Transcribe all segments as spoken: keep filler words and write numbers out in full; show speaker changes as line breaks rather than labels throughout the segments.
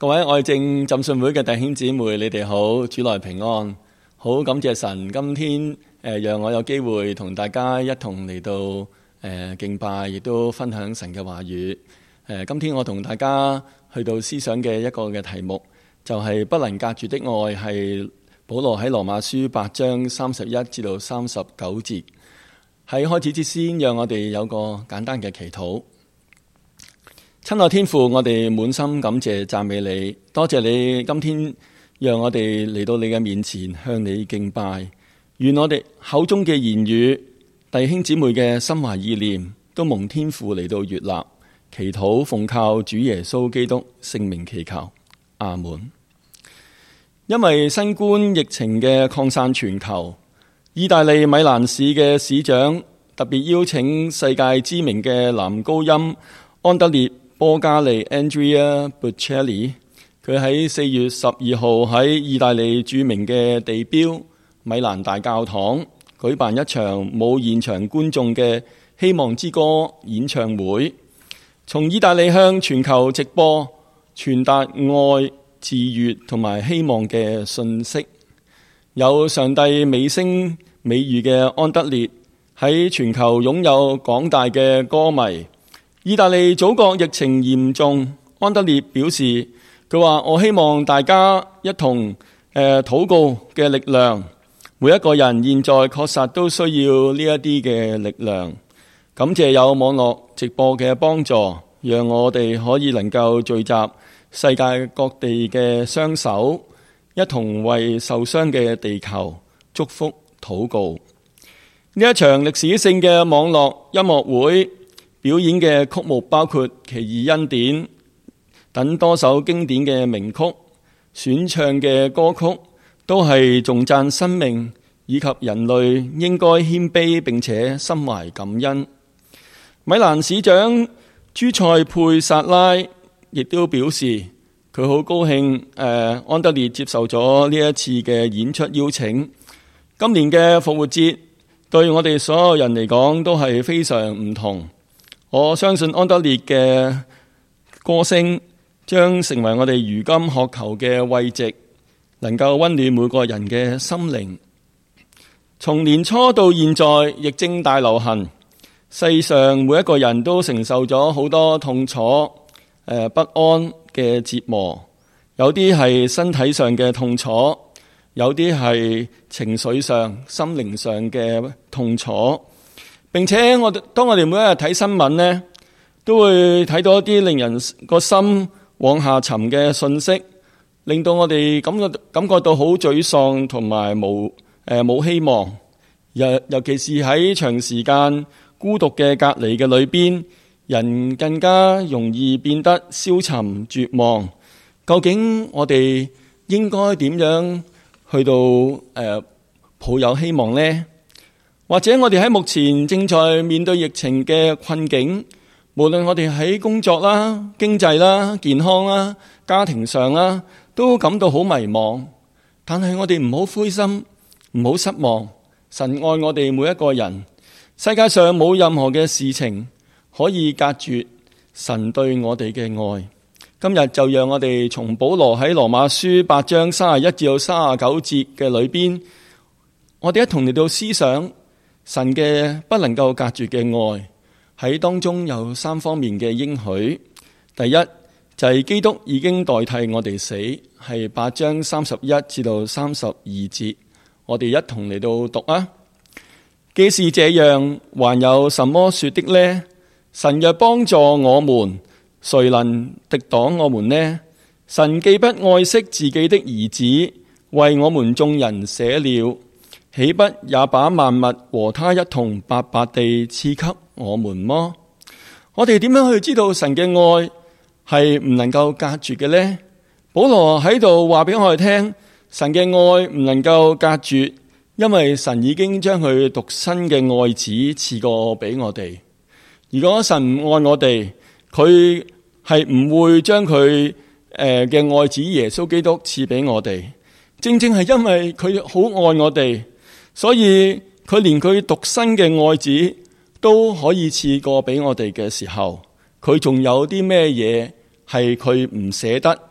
各位愛證浸信會嘅弟兄姊妹，你哋好，主內平安。好感謝神，今天誒、呃、讓我有機會同大家一同嚟到誒、呃、敬拜，亦都分享神嘅話語。誒、呃，今天我同大家去到思想嘅一個嘅題目，就係、是、不能隔絕的愛，係保羅喺羅馬書八章三十一至到三十九節。喺開始之先，讓我哋有個簡單嘅祈禱。親愛天父，我哋滿心感謝讚美你，多謝你今天讓我哋嚟到你嘅面前向你敬拜。願我哋口中嘅言語、弟兄姊妹嘅心懷意念都蒙天父嚟到悅納。祈禱奉靠主耶穌基督聖名祈求，阿門。因為新冠疫情嘅擴散全球，意大利米蘭市嘅市長特別邀請世界知名嘅男高音安德烈波加利 Andrea Bocelli， 佢喺四月十二號喺意大利著名嘅地標米蘭大教堂舉辦一場冇現場觀眾嘅希望之歌演唱會，從意大利向全球直播傳達愛、治癒同埋希望嘅信息。有上帝美聲美譽嘅安德烈喺全球擁有廣大嘅歌迷。意大利祖國疫情嚴重，安德烈表示，佢話我希望大家一同誒、呃、禱告嘅力量，每一個人現在確實都需要呢一啲嘅力量。感謝有網絡直播嘅幫助，讓我哋可以能夠聚集世界各地嘅雙手，一同為受傷嘅地球祝福禱告。呢一場歷史性嘅網絡音樂會表演嘅曲目包括《奇異恩典》等多首經典嘅名曲，選唱嘅歌曲都係頌讚生命以及人類應該謙卑並且心懷感恩。米蘭市長朱塞佩薩拉亦都表示，佢好高興誒、呃、安德烈接受咗呢一次嘅演出邀請。今年嘅復活節對我哋所有人嚟講都係非常唔同。我相信安德烈嘅歌聲將成為我哋如今渴求嘅慰藉，能夠溫暖每個人嘅心靈。從年初到現在，疫症大流行，世上每一個人都承受咗好多痛楚、呃、不安嘅折磨，有啲係身體上嘅痛楚，有啲係情緒上、心靈上嘅痛楚。並且我當我哋每一日睇新聞呢，都會睇到一啲令人個心往下沉嘅信息，令到我哋感覺感覺到好沮喪同埋冇誒冇希望。尤尤其是喺長時間孤獨嘅隔離嘅裏邊，人更加容易變得消沉絕望。究竟我哋應該點樣去到誒、呃、抱有希望呢？或者我哋喺目前正在面對疫情嘅困境，無論我哋喺工作啦、經濟啦、健康啦、家庭上啦，都感到好迷茫。但係我哋唔好灰心，唔好失望。神愛我哋每一個人，世界上冇任何嘅事情可以隔絕神對我哋嘅愛。今日就讓我哋從保羅喺羅馬書八章三十一至到三十九節嘅裏邊，我哋一同嚟到思想神嘅不能夠隔絕嘅愛。喺當中有三方面嘅應許。第一就係、是、基督已經代替我哋死，係八章三十一至到三十二節，我哋一同嚟到讀啊。既是這樣，還有什麼說的呢？神若幫助我們，誰能敵擋我們呢？神既不愛惜自己的兒子，為我們眾人捨了，豈不也把萬物和他一同白白地賜給我們麼？我哋點樣去知道神嘅愛係唔能夠隔絕嘅呢？保羅喺度話俾我哋聽，神嘅愛唔能夠隔絕，因為神已經將佢獨生嘅愛子賜過俾我哋。如果神唔愛我哋，佢係唔會將佢誒嘅愛子耶穌基督賜俾我哋。正正係因為佢好愛我哋，所以佢連佢獨生嘅愛子都可以賜過俾我哋嘅時候，佢仲有啲咩嘢係佢唔捨得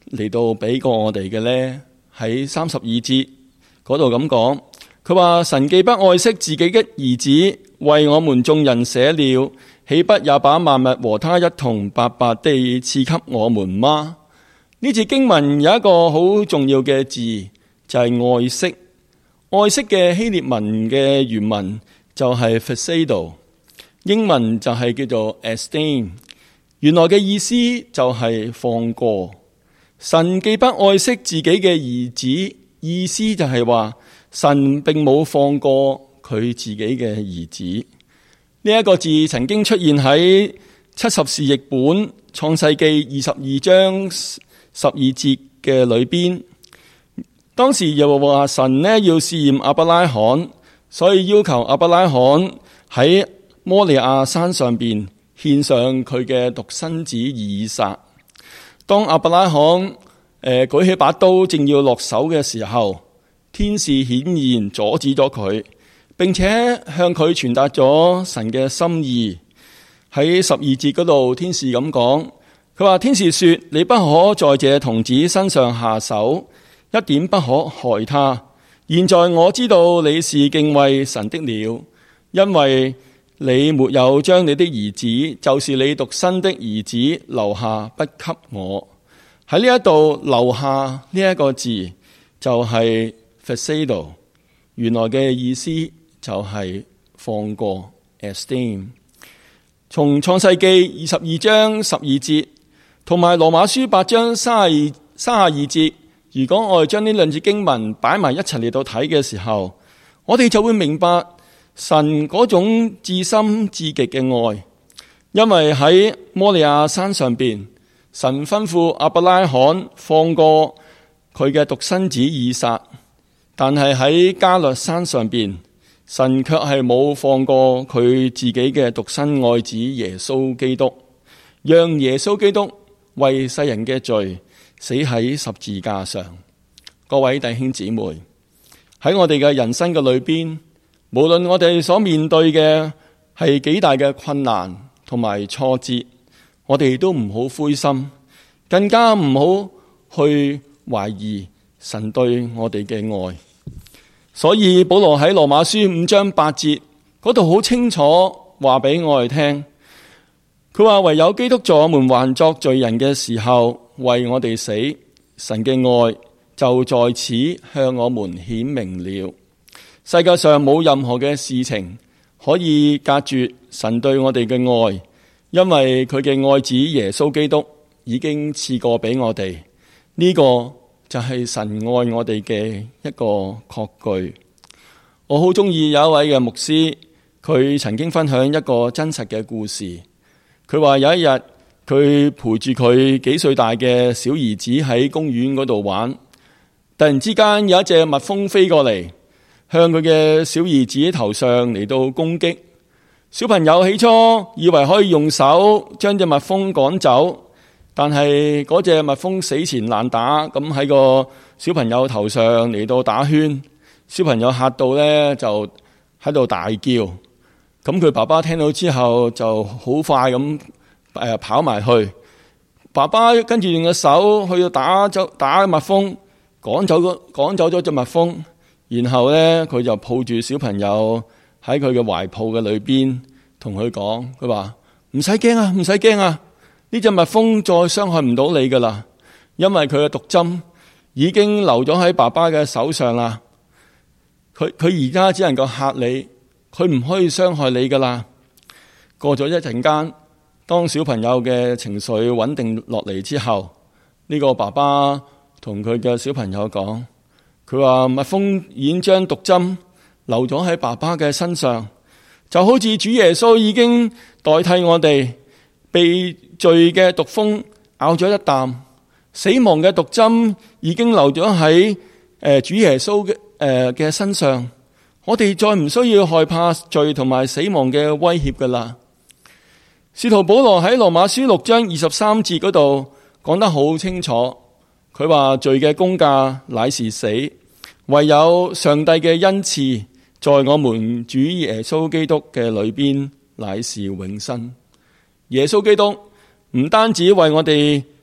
嚟到俾過我哋嘅呢？喺三十二節嗰度咁講，佢話神既不愛惜自己嘅兒子，為我們眾人捨了，豈不也把萬物和他一同白白地賜給我們嗎？呢節經文有一個好重要嘅字，就係、是、愛惜。愛惜嘅希臘文嘅原文就係 phesado， 英文就係叫做 esteem， 原來嘅意思就係放過。神既不愛惜自己嘅兒子，意思就係話神並冇放過佢自己嘅兒子。呢、這、一個字曾經出現喺七十士譯本創世記二十二章十二節嘅裏邊。當時又話神呢要試驗亞伯拉罕，所以要求亞伯拉罕喺摩利亞山上邊獻上佢嘅獨生子以撒。當亞伯拉罕誒、呃、舉起把刀正要落手嘅時候，天使顯現阻止咗佢，並且向佢傳達咗神嘅心意。喺十二節嗰度，天使咁講，佢話天使說：你不可在這童子身上下手，一點不可害他。現在我知道你是敬畏神的了，因為你沒有將你的兒子，就是你獨生的兒子留下不給我。喺呢一度留下呢一個字就係 phesado， 原來嘅意思就係放過 esteem。從創世記二十二章十二節同埋羅馬書八章三十二三十二節，如果我哋將呢兩節經文擺埋一齊嚟到睇嘅時候，我哋就會明白神嗰種至深至極嘅愛。因為喺摩利亞山上邊，神吩咐亞伯拉罕放過佢嘅獨生子以撒，但係喺加略山上邊，神卻係冇放過佢自己嘅獨生愛子耶穌基督，讓耶穌基督為世人嘅罪死喺十字架上。各位弟兄姊妹，喺我哋嘅人生嘅裏邊，無論我哋所面對嘅係幾大嘅困難同埋挫折，我哋都唔好灰心，更加唔好去懷疑神對我哋嘅愛。所以保羅喺羅馬書五章八節嗰度好清楚話俾我哋聽，佢話唯有基督在我們還作罪人嘅時候為我哋死，神嘅愛就在此向我們顯明了。世界上冇任何嘅事情可以隔絕神對我哋嘅愛，因為佢嘅愛子耶穌基督已經賜過俾我哋。呢、這個就係神愛我哋嘅一個確據。我好中意有一位嘅牧師，佢曾經分享一個真實嘅故事。佢話有一日佢陪住佢幾歲大嘅小兒子喺公園嗰度玩，突然之間有一隻蜜蜂飛過嚟，向佢嘅小兒子頭上嚟到攻擊。小朋友起初以為可以用手將隻蜜蜂趕走，但係嗰隻蜜蜂死纏爛打，咁喺個小朋友頭上嚟到打圈，小朋友嚇到呢，就喺度大叫。咁佢爸爸聽到之後就好快咁誒跑埋去，爸爸跟住用個手去到打走打蜜蜂，趕走個趕走咗隻蜜蜂，然後呢，佢就抱住小朋友喺佢嘅懷抱嘅裏邊，同佢講，佢話唔使驚啊，唔使驚啊！呢隻蜜蜂再傷害唔到你噶啦，因為佢嘅毒針已經留咗喺爸爸嘅手上啦。佢佢而家只能夠嚇你，佢唔可以傷害你噶啦。過咗一陣間，當小朋友嘅情緒穩定落嚟之後，呢個爸爸同佢嘅小朋友講，佢話蜜蜂已經將毒針留咗喺爸爸嘅身上，就好似主耶穌已經代替我哋被罪嘅毒蜂咬咗一啖，死亡嘅毒針已經留咗喺誒主耶穌嘅誒嘅身上，我哋再唔需要害怕罪同埋死亡嘅威脅噶啦。使徒保羅喺羅馬書六章二十三節嗰度講得好清楚，佢話罪嘅工價乃是死，唯有上帝嘅恩賜在我們主耶穌基督嘅裏邊乃是永生。耶穌基督唔單止為我哋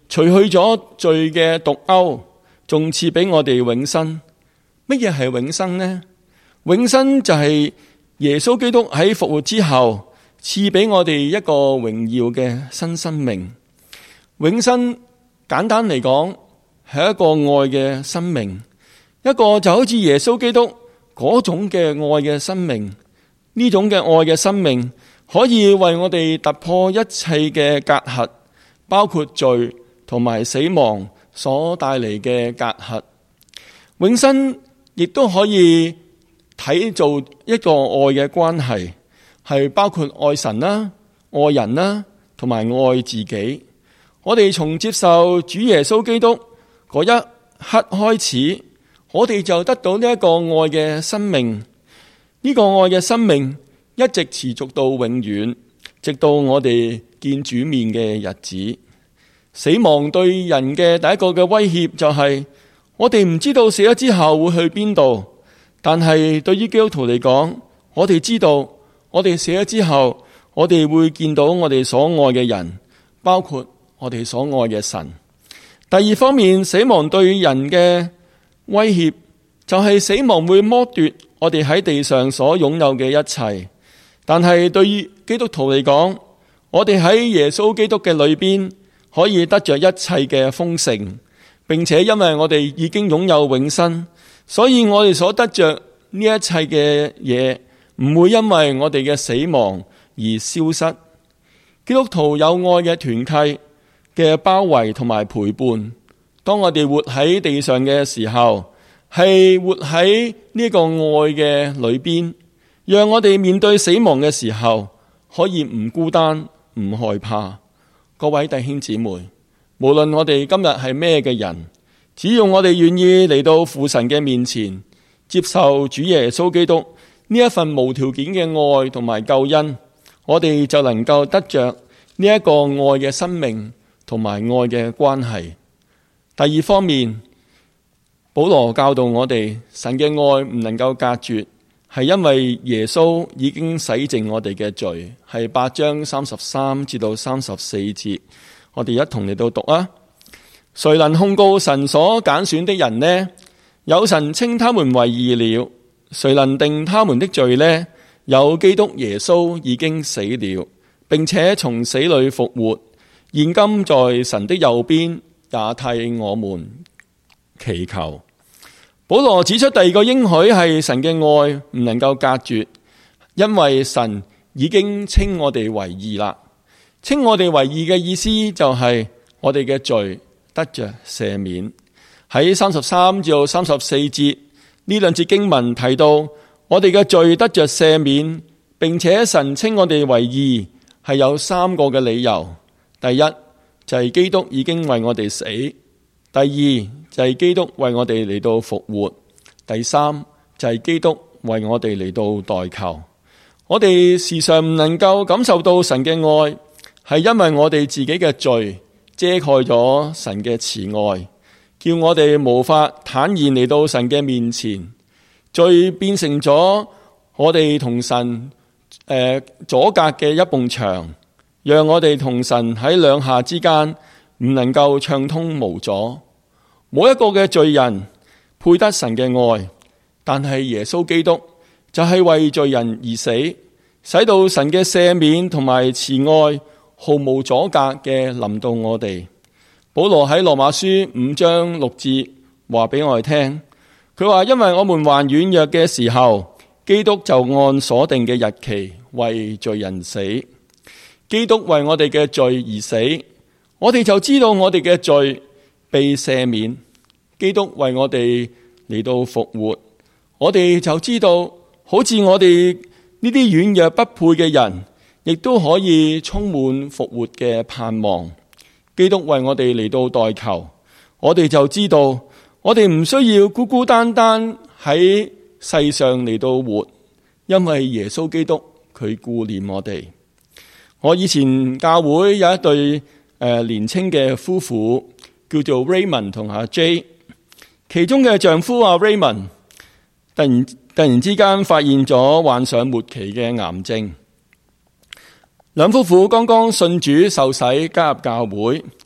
除去咗罪嘅毒鈎，仲賜俾我哋永生。乜嘢係永生呢？永生就係耶穌基督喺復活之後賜俾我哋一個榮耀嘅新生命。永生簡單嚟講係一個愛嘅生命，一個就好似耶穌基督嗰種嘅愛嘅生命。呢種嘅愛嘅生命可以為我哋突破一切嘅隔閡，包括罪同埋死亡所帶嚟嘅隔閡。永生亦都可以睇做一個愛嘅關係，係包括愛神啦、愛人啦，同埋愛自己。我哋從接受主耶穌基督嗰一刻開始，我哋就得到呢一個愛嘅生命。呢個愛嘅生命一直持續到永遠，直到我哋見主面嘅日子。死亡對人嘅第一個嘅威脅就係我哋唔知道死咗之後會去邊度，但係對於基督徒嚟講，我哋知道我哋死咗之後，我哋會見到我哋所愛嘅人，包括我哋所愛嘅神。第二方面，死亡對人嘅威脅就係死亡會剝奪我哋喺地上所擁有嘅一切。但係對於基督徒嚟講，我哋喺耶穌基督嘅裏邊可以得着一切嘅豐盛，並且因為我哋已經擁有永生，所以我哋所得着呢一切嘅嘢唔會因為我哋嘅死亡而消失。基督徒有愛嘅團契嘅包圍同埋陪伴，當我哋活喺地上嘅時候，係活喺呢個愛嘅裏邊，讓我哋面對死亡嘅時候可以唔孤單、唔害怕。各位弟兄姊妹，無論我哋今日係咩嘅人，只要我哋願意嚟到父神嘅面前，接受主耶穌基督呢一份無條件嘅愛同埋救恩，我哋就能夠得着呢一個愛嘅生命同埋愛嘅關係。第二方面，保羅教導我哋，神嘅愛唔能夠隔絕，係因為耶穌已經洗淨我哋嘅罪，係八章三十三至到三十四節，我哋一同嚟到讀啊。誰能控告神所揀選的人呢？有神稱他們為義了。誰能定他們的罪呢？有基督耶穌已經死了，並且從死裏復活，現今在神的右邊，也替我們祈求。保羅指出第二個應許係神嘅愛唔能夠隔絕，因為神已經稱我哋為義啦。稱我哋為義嘅意思就係我哋嘅罪得着赦免。喺三十三至三十四節呢兩節經文提到，我哋嘅罪得着赦免，並且神稱我哋為義，係有三個嘅理由。第一就係基督已經為我哋死。第二就係基督為我哋嚟到復活，第三就係基督為我哋嚟到代求。我哋時常唔能夠感受到神嘅愛，係因為我哋自己嘅罪遮蓋咗神嘅慈愛，叫我哋無法坦然嚟到神嘅面前。罪變成咗我哋同神誒阻隔嘅一埲牆，讓我哋同神喺兩下之間唔能夠暢通無阻。冇一個嘅罪人配得神嘅愛，但係耶穌基督就係為罪人而死，使到神嘅赦免同埋慈愛毫無阻隔嘅臨到我哋。保羅喺羅馬書五章六節話俾我哋聽，佢話因為我們還軟弱嘅時候，基督就按所定嘅日期為罪人死。基督為我哋嘅罪而死，我哋就知道我哋嘅罪被赦免。基督為我哋嚟到復活，我哋就知道好似我哋呢啲軟弱不配嘅人，亦都可以充滿復活嘅盼望。基督為我哋嚟到代求，我哋就知道我哋唔需要孤孤單單喺世上嚟到活，因為耶穌基督佢顧念我哋。我以前教會有一對誒、呃、年輕嘅夫婦，叫做 Raymond 同阿 J。其中嘅丈夫阿 Raymond 突然突然之間發現咗患上末期嘅癌症。兩夫婦剛剛信主受洗加入教會，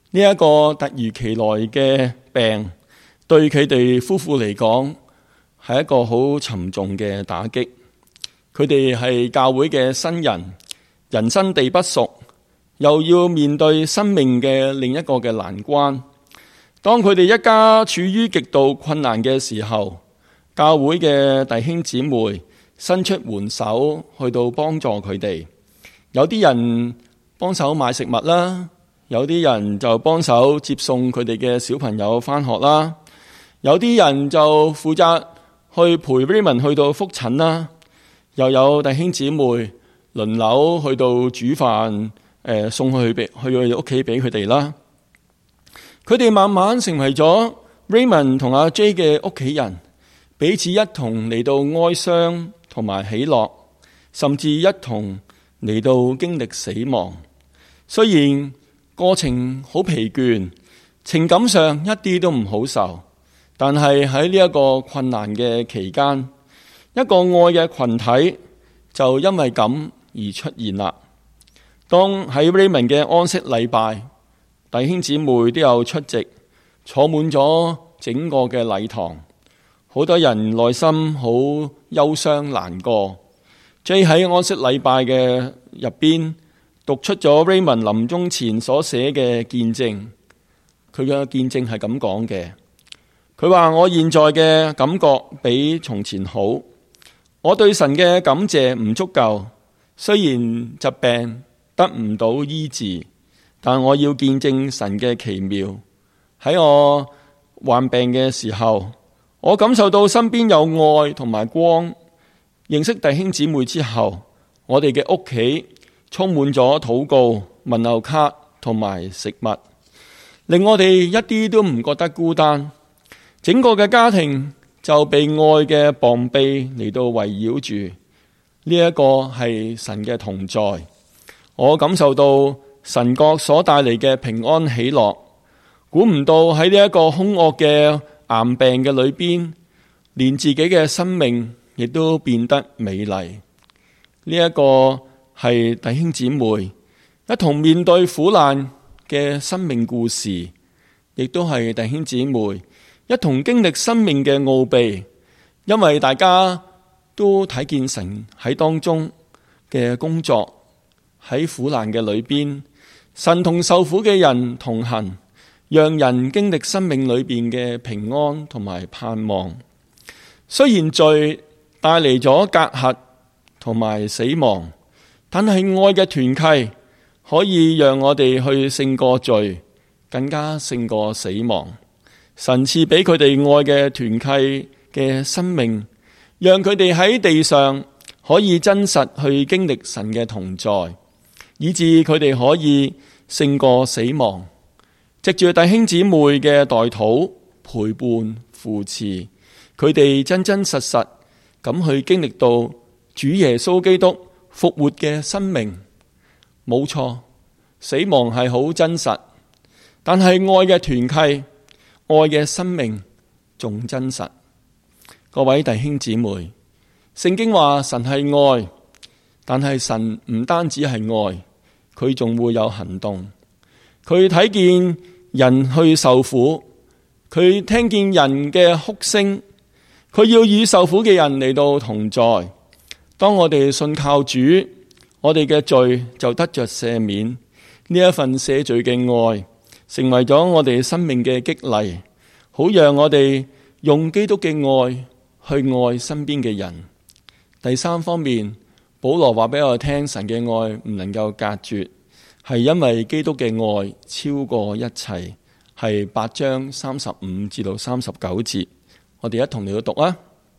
呢一個突如其來嘅病，對佢哋夫婦嚟講係一個好沉重嘅打擊。佢哋係教會嘅新人，人生地不熟，又要面對生命嘅另一個嘅難關。當佢哋一家處於極度困難嘅時候，教會嘅弟兄姊妹伸出援手去到幫助佢哋。有啲人幫手買食物啦，有啲人就幫手接送佢哋嘅小朋友返學啦，有啲人就負責去陪 Raymond 去到復診啦，又有弟兄姊妹輪流去到煮飯，誒送去俾去佢屋企俾佢哋啦。佢哋慢慢成為咗 Raymond 同阿 J 嘅屋企人，彼此一同嚟到哀傷同埋喜樂，甚至一同嚟到經歷死亡。雖然過程好疲倦，情感上一啲都唔好受，但係喺呢一個困難嘅期間，一個愛嘅群體就因為咁而出現啦。當喺 Raymond 嘅安息禮拜，弟兄姊妹都有出席，坐滿咗整個嘅禮堂，好多人內心好憂傷難過。J 喺安息禮拜嘅入邊讀出咗 Raymond 臨終前所寫嘅見證，佢嘅見證係咁講嘅。佢話：我現在嘅感覺比從前好，我對神嘅感謝唔足夠，雖然疾病得唔到醫治，但我要見證神嘅奇妙。喺我患病嘅時候，我感受到身邊有愛同埋光。認識弟兄姊妹之後，我哋嘅屋企充滿咗禱告、問候卡同埋食物，令我哋一啲都唔覺得孤單。整個嘅家庭就被愛嘅膀臂嚟到圍繞住。呢一個係神嘅同在，我感受到神國所帶嚟嘅平安喜樂。估唔到喺呢一個兇惡嘅癌病嘅裏邊，連自己嘅生命亦都變得美麗。呢一個係弟兄姊妹一同面對苦難嘅生命故事，亦都係弟兄姊妹一同經歷生命嘅奧秘。因為大家都睇見神喺當中嘅工作，喺苦難嘅裏邊，神同受苦嘅人同行，讓人經歷生命裏邊嘅平安同埋盼望。雖然罪帶嚟咗隔閡同埋死亡，但係愛嘅團契可以讓我哋去勝過罪，更加勝過死亡。神賜俾佢哋愛嘅團契嘅生命，讓佢哋喺地上可以真實去經歷神嘅同在，以致佢哋可以勝過死亡。藉住弟兄姊妹嘅代禱、陪伴、扶持，佢哋真真實實咁去經歷到主耶穌基督復活嘅生命。冇錯，死亡係好真實，但係愛嘅團契、愛嘅生命仲真實。各位弟兄姊妹，聖經話神係愛，但係神唔單止係愛，佢仲會有行動。佢睇見人去受苦，佢聽見人嘅哭聲，佢要與受苦嘅人嚟到同在。當我哋信靠主，我哋嘅罪就得着赦免。呢一份赦罪嘅愛，成為咗我哋生命嘅激勵，好讓我哋用基督嘅愛去愛身邊嘅人。第三方面，保羅話俾我聽，神嘅愛唔能夠隔絕，係因為基督嘅愛超過一切。係八章三十五至到三十九節，我哋一同嚟到讀啊！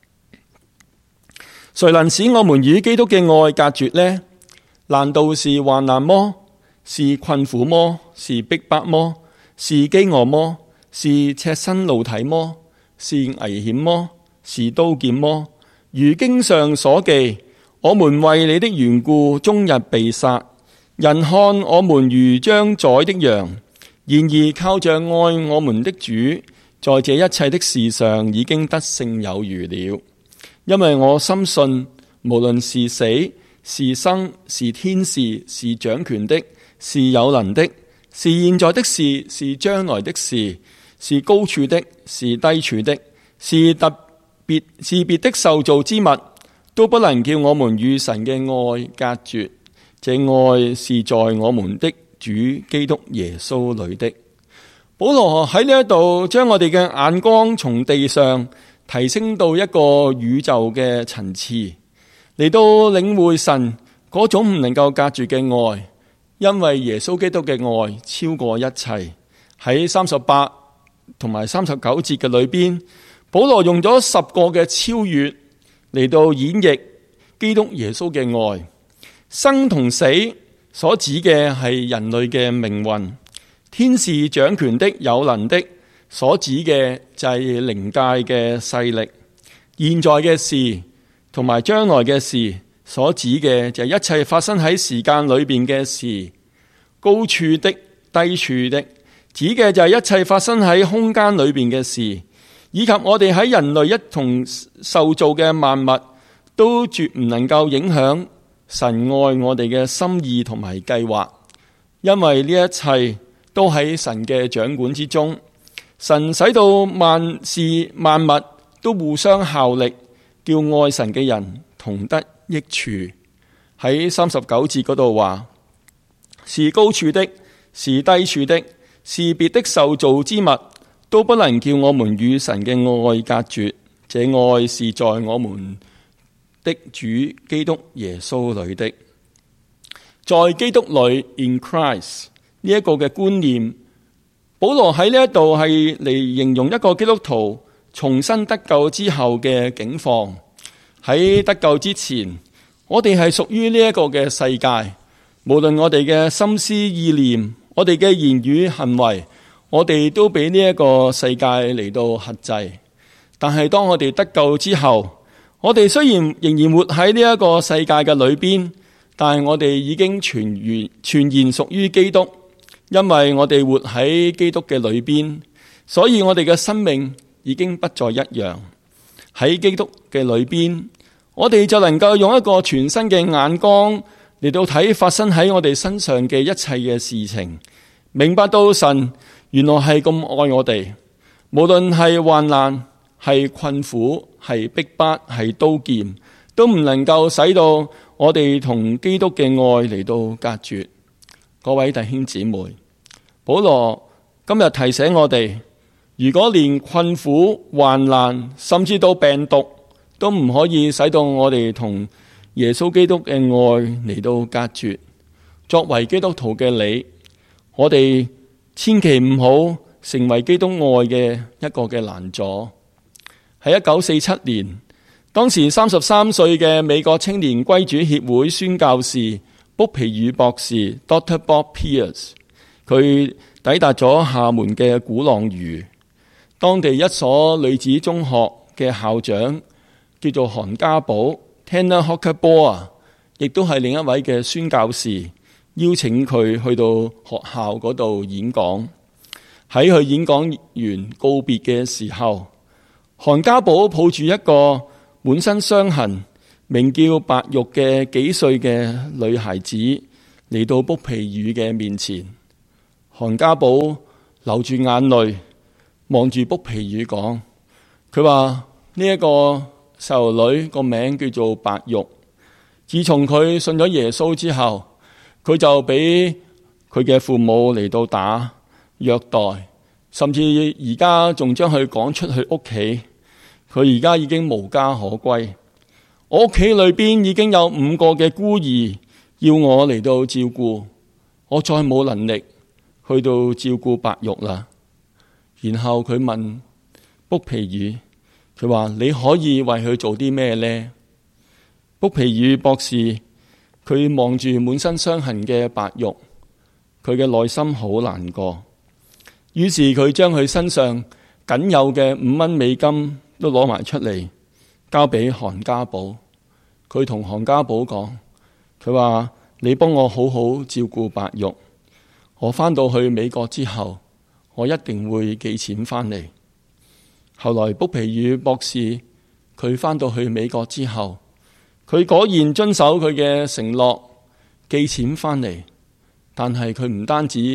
誰能使我們與基督嘅愛隔絕呢？難道是患難麼？是困苦麼？是逼迫麼？是飢餓麼？是赤身露體麼？是危險麼？是刀劍麼？如經上所記，我們為你的緣故終日被殺，人看我們如將宰的羊。然而靠着愛我們的主，在這一切的事上已經得勝有餘了。因為我深信，無論是死是生，是天使，是掌權的，是有能的， 是現在的事，是將來的事，是高處的，是低處的，是特別是別的受造之物，都不能叫我們與神嘅愛隔絕。這愛是在我們的主基督耶穌裏的。保羅喺呢一度將我哋嘅眼光從地上提升到一個宇宙嘅層次，嚟到領會神嗰種唔能夠隔絕嘅愛，因為耶穌基督嘅愛超過一切。喺三十八同埋三十九節嘅裏邊，保羅用咗十個嘅超越嚟到演繹基督耶穌嘅愛。生同死所指嘅係人類嘅命運。天使掌權的有能的所指嘅就係靈界嘅勢力，現在嘅事同埋將來嘅事所指嘅就係一切發生喺時間裏邊嘅事。高處的低處的指嘅就係一切發生喺空間裏邊嘅事，以及我哋喺人類一同受造嘅萬物都絕唔能夠影響神愛我哋嘅心意同埋計劃，因為呢一切都喺神嘅掌管之中。神使到萬事萬物都互相效力，叫愛神嘅人同得益處。喺三十九節嗰度話，是高處的，是低處的，是別的受造之物，都不能叫我們與神嘅愛隔絕。這愛是在我們的主基督耶穌裏的。在基督裏 in Christ 呢一個嘅觀念，保羅喺呢一度係嚟形容一個基督徒重新得救之後嘅境況。喺得救之前，我哋係屬於呢一個嘅世界，無論我哋嘅心思意念，我哋嘅言語行為，我哋都俾呢一個世界嚟到轄制。但係當我哋得救之後，我哋雖然仍然活喺呢一個世界嘅裏邊，但係我哋已經全然全然屬於基督。因為我哋活喺基督嘅裏邊，所以我哋嘅生命已經不再一樣。喺基督嘅裏邊，我哋就能夠用一個全新嘅眼光嚟到睇發生喺我哋身上嘅一切嘅事情，明白到神原來係咁愛我哋，無論係患難、係困苦、係逼迫、係刀劍，都唔能夠使到我哋同基督嘅愛嚟到隔絕。各位弟兄姊妹，保羅今日提醒我哋，如果連困苦、患難，甚至到病毒都唔可以使到我哋同耶穌基督嘅愛嚟到隔絕，作為基督徒嘅你，我哋千祈唔好成為基督愛嘅一個嘅攔阻。喺一九四七年，當時三十三歲嘅美國青年歸主協會宣教士卜皮爾博士 Doctor Bob Pierce， 佢抵達咗廈門嘅鼓浪嶼，當地一所女子中學嘅校長叫做韓家寶 Tanner Hochbohr， 亦都係另一位嘅宣教士，邀請佢去到學校嗰度演講。喺佢演講完告別嘅時候，韓家寶抱住一個滿身傷痕，名叫白玉嘅幾歲嘅女孩子嚟到卜皮爾嘅面前。韓家寶流住眼淚望住卜皮爾講，佢話呢一個細路女個名叫做白玉，自從佢信咗耶穌之後，佢就俾佢嘅父母嚟到打虐待，甚至而家仲將佢趕出去屋企。佢而家已經無家可歸。我屋企裏邊已經有五個嘅孤兒要我嚟到照顧，我再冇能力去到照顧白玉啦。然後佢問卜皮爾，佢話你可以為佢做啲咩呢？卜皮爾博士佢望住滿身傷痕嘅白玉，佢嘅內心好難過。於是佢將佢身上僅有嘅五蚊美金都攞埋出嚟，交俾韓家寶。佢同韓家寶講，佢話你幫我好好照顧白玉，我返到去美國之後，我一定會寄錢返嚟。後來卜皮爾博士佢返到去美國之後，佢果然遵守佢嘅承諾，寄錢返嚟。但係佢唔單止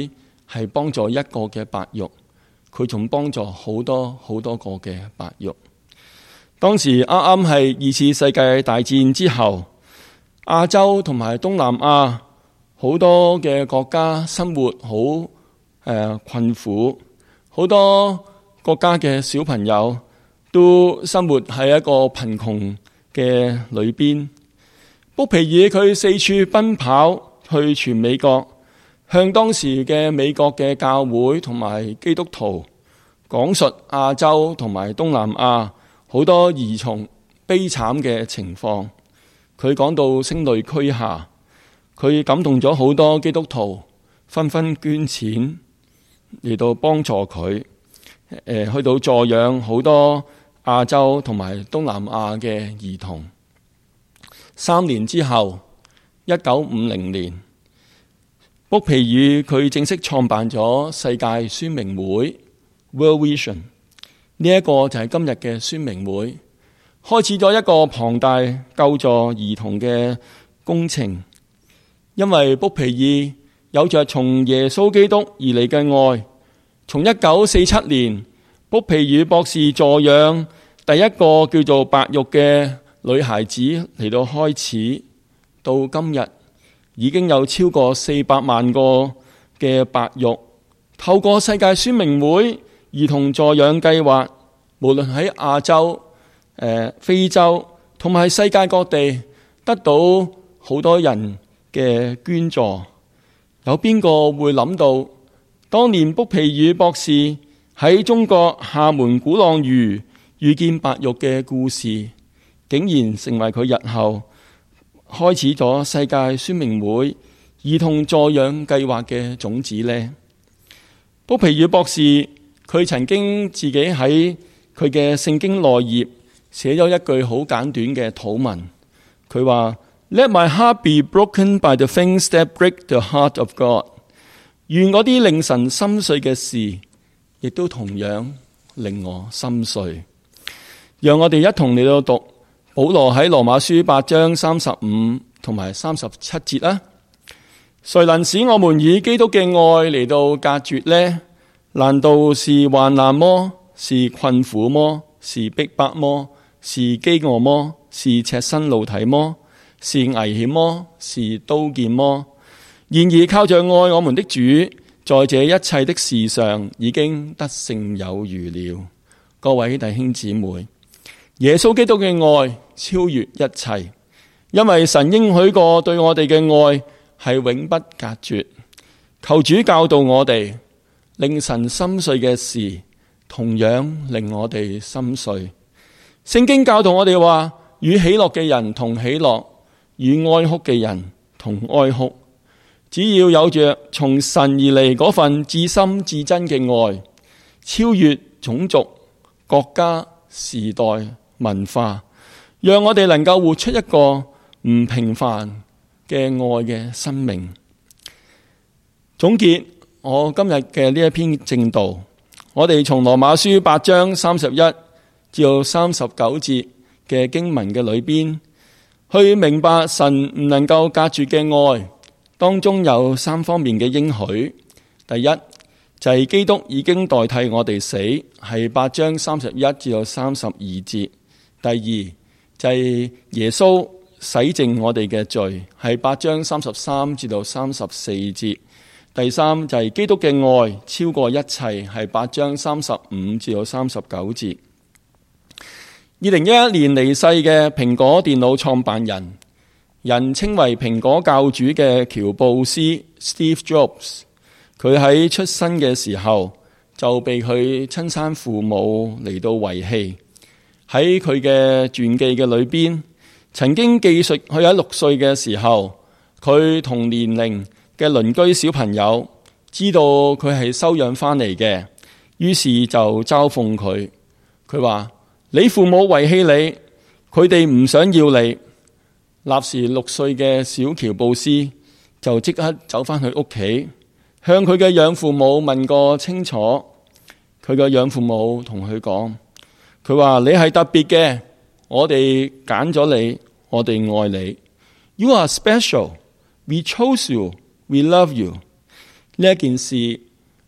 係幫助一個嘅白玉，佢仲幫助好多好多個嘅白玉。當時啱啱係二次世界大戰之後，亞洲同埋東南亞好多嘅國家生活好誒、呃、困苦，好多國家嘅小朋友都生活喺一個貧窮嘅裏邊。卜皮爾佢四處奔跑去全美國，向當時嘅美國嘅教會同埋基督徒講述亞洲同埋東南亞好多兒童悲慘嘅情況。佢講到聲淚俱下，佢感動咗好多基督徒，紛紛捐錢嚟到幫助佢，誒去到助養好多亞洲同埋東南亞嘅兒童。三年之後，一九五零年，卜皮爾佢正式創辦咗世界宣明會 World Vision， 呢一個就係今日嘅宣明會，開始咗一個龐大救助兒童嘅工程。因為卜皮爾有着從耶穌基督而嚟嘅愛，從一九四七年卜皮爾博士助養第一個叫做白玉嘅女孩子嚟到開始，到今日已經有超過四百萬個嘅白玉透過世界宣明會兒童助養計劃，無論喺亞洲、呃、非洲同埋世界各地得到好多人嘅捐助。有邊個會諗到當年卜皮爾博士喺中國廈門鼓浪嶼遇見白玉嘅故事，竟然成為佢日後開始咗世界宣明會兒童助養計劃嘅種子呢？卜皮爾博士佢曾經自己喺佢嘅聖經內頁寫咗一句好簡短嘅禱文，佢話 Let my heart be broken by the things that break the heart of God。 願嗰啲令神心碎嘅事，亦都同樣令我心碎。讓我哋一同嚟到讀保羅喺羅馬書八章三十五同埋三十七節啦。誰能使我們以基督嘅愛嚟到隔絕呢？難道是患難麼？是困苦麼？是逼迫麼？是飢餓麼？是赤身露體麼？是危險麼？是刀劍麼？然而靠着愛我們的主，在這一切的事上已經得勝有餘了。各位弟兄姊妹，耶穌基督嘅愛超越一切，因為神應許過對我哋嘅愛係永不隔絕。求主教導我哋，令神心碎嘅事同樣令我哋心碎。聖經教導我哋話，與喜樂嘅人同喜樂，與哀哭嘅人同哀哭。只要有着從神而嚟嗰份至深至真嘅愛，超越種族、國家、時代、文化，讓我哋能夠活出一個唔平凡嘅愛嘅生命。總結我今日嘅呢一篇證道，我哋從羅馬書八章三十一至到三十九節嘅經文嘅裏邊，去明白神唔能夠隔絕嘅愛當中有三方面嘅應許。第一就係、是、基督已經代替我哋死，係八章三十一至到三十二節。第二就係、是、耶穌洗淨我哋嘅罪，係八章三十三至到三十四節。第三就係、是、基督嘅愛超過一切，係八章三十五至到三十九節。二零一一年離世嘅蘋果電腦創辦人，人稱為蘋果教主嘅喬布斯 Steve Jobs， 佢喺出生嘅時候就被佢親生父母嚟到遺棄。喺佢嘅傳記嘅裏邊，曾經記述佢喺六歲嘅時候，佢同年齡嘅鄰居小朋友知道佢係收養翻嚟嘅，於是就嘲諷佢。佢話：你父母遺棄你，佢哋唔想要你。立時六歲嘅小喬布斯就即刻走翻去屋企，向佢嘅養父母問個清楚。佢嘅養父母同佢講，佢話：你係特別嘅，我哋揀咗你，我哋愛你。You are special. We chose you. We love you. 呢一件事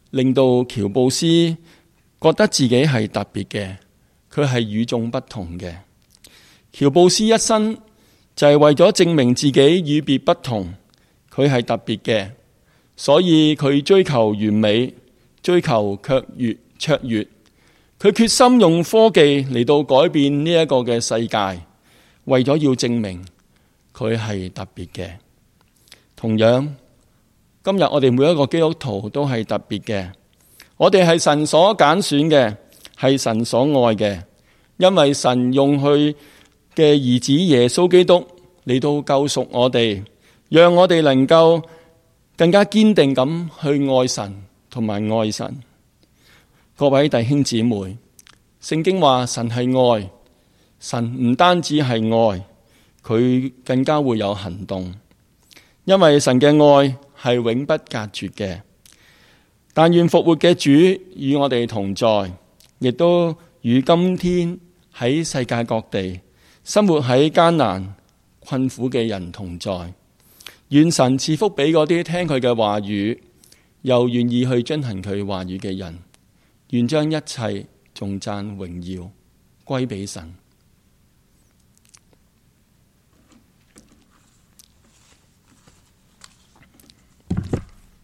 令到喬布斯覺得自己係特別嘅，佢係與眾不同嘅。喬布斯一生就係為咗證明自己與別不同，佢係特別嘅，所以佢追求完美，追求卻越卓越。佢決心用科技嚟到改變呢一個嘅世界，為咗要證明佢係特別嘅。同樣，今日我哋每一個基督徒都係特別嘅，我哋係神所揀選嘅，係神所愛嘅，因為神用佢嘅兒子耶穌基督嚟到救贖我哋，讓我哋能夠更加堅定咁去愛神同埋愛神。各位弟兄姊妹，聖經話神係愛，神唔單止係愛，佢更加會有行動，因為神嘅愛係永不隔絕嘅。但願復活嘅主與我哋同在，亦都與今天喺世界各地生活喺艱難困苦嘅人同在。願神賜福俾嗰啲聽佢嘅話語又願意去遵行佢話語嘅人。願將一切頌讚榮耀歸俾神。